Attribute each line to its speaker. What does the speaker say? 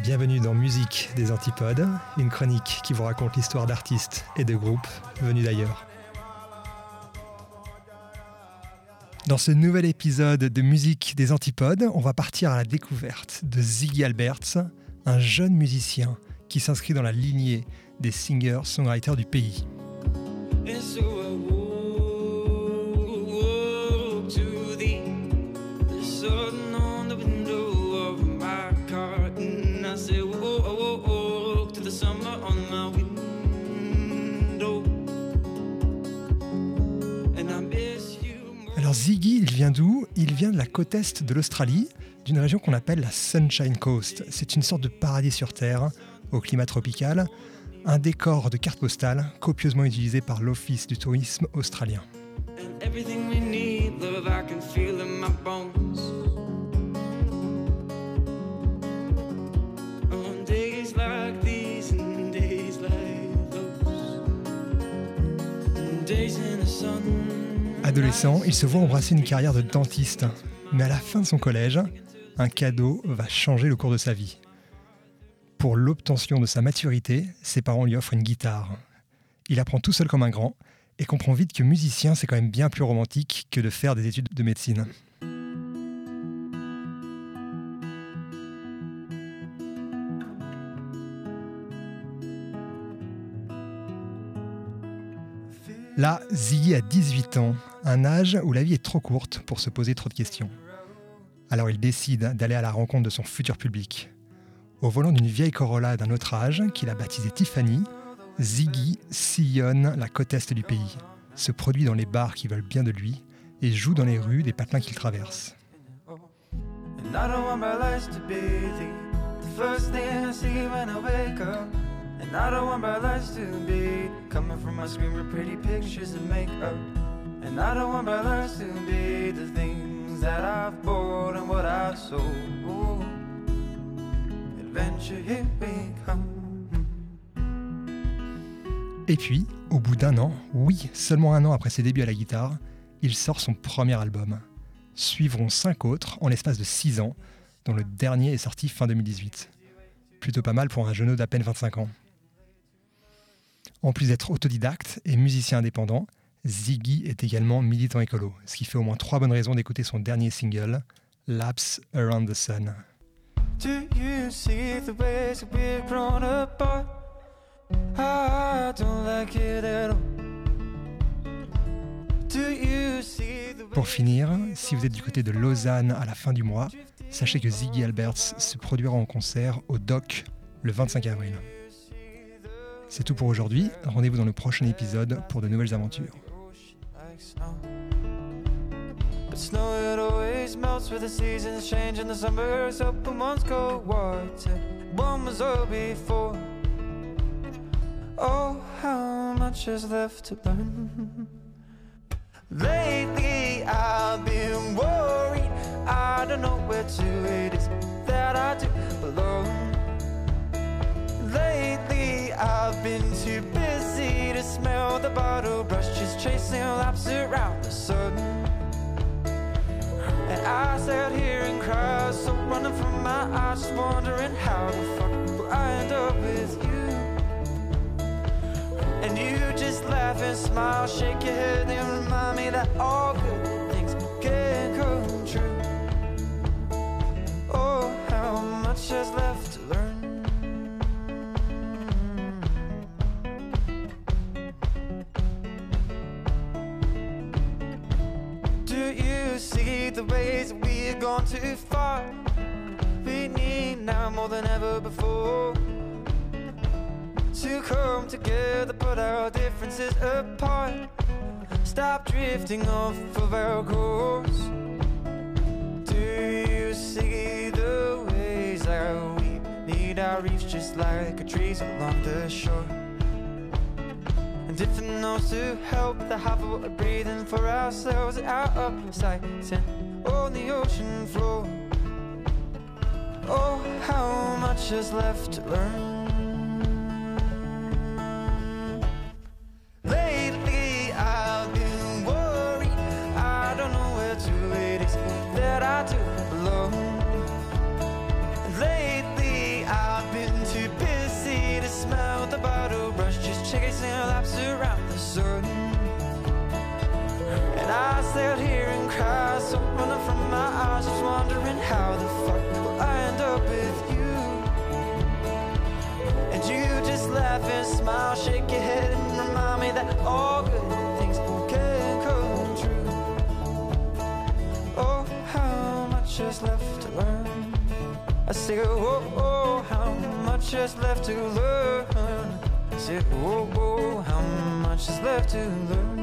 Speaker 1: Bienvenue dans Musique des Antipodes, une chronique qui vous raconte l'histoire d'artistes et de groupes venus d'ailleurs. Dans ce nouvel épisode de Musique des Antipodes, on va partir à la découverte de Ziggy Alberts, un jeune musicien qui s'inscrit dans la lignée des singers-songwriters du pays. Alors Ziggy, il vient d'où ? Il vient de la côte est de l'Australie, d'une région qu'on appelle la Sunshine Coast. C'est une sorte de paradis sur Terre, au climat tropical, un décor de carte postale copieusement utilisé par l'Office du tourisme australien. Adolescent, il se voit embrasser une carrière de dentiste. Mais à la fin de son collège, un cadeau va changer le cours de sa vie. Pour l'obtention de sa maturité, ses parents lui offrent une guitare. Il apprend tout seul comme un grand et comprend vite que musicien, c'est quand même bien plus romantique que de faire des études de médecine. Là, Ziggy a 18 ans, un âge où la vie est trop courte pour se poser trop de questions. Alors il décide d'aller à la rencontre de son futur public. Au volant d'une vieille Corolla d'un autre âge, qu'il a baptisée Tiffany, Ziggy sillonne la côte est du pays, se produit dans les bars qui veulent bien de lui et joue dans les rues des patelins qu'il traverse.
Speaker 2: And I don't want bright lights to be coming from my screen with pretty pictures of makeup. And I don't want bright lights to be the things that I've bought and what I've sold. Ooh. Adventure, here we come.
Speaker 1: Et puis, au bout d'un an, oui, seulement un an après ses débuts à la guitare, il sort son premier album. Suivront 5 autres en l'espace de 6 ans, dont le dernier est sorti fin 2018. Plutôt pas mal pour un jeune d'à peine 25 ans. En plus d'être autodidacte et musicien indépendant, Ziggy est également militant écolo, ce qui fait au moins 3 bonnes raisons d'écouter son dernier single, Laps Around the Sun.
Speaker 2: Do you see the ways that we've grown apart? I don't like it at all. Do you see the...
Speaker 1: Pour finir, si vous êtes du côté de Lausanne à la fin du mois, sachez que Ziggy Alberts se produira en concert au Dock le 25 avril. C'est tout pour aujourd'hui. Rendez-vous dans le prochain épisode pour de nouvelles aventures.
Speaker 2: But snow it always melts with the seasons change and the summers open one's cold water. One was all before. Oh, how much is left to learn? Lately I've been worried. I don't know where to it is that I do belong. Lately I've been too busy to smell the bottle brush, just chasing laps around the sun. And I sat here and cried, so running from my eyes, just wondering how the fuck will I end up with you? And you just laugh and smile, shake your head and remind me that all good things can come true. Oh, how much is left to learn? Do you see the ways that we've gone too far? We need now more than ever before to come together, put our differences apart. Stop drifting off of our course. Do you see the ways that we need our reefs just like trees along the shore? And if it knows to help the half of what we're breathing for ourselves out of sight and on the ocean floor. Oh, how much is left to learn? I do belong. Lately I've the sun. And I sat here and cried, so running from my eyes, just wondering how the fuck will I end up with you. And you just laugh and smile, shake your head and remind me that all good things can come true. Oh, how much is left to learn? I say, oh, oh, how much is left to learn? I say, oh, oh, how much is left to learn?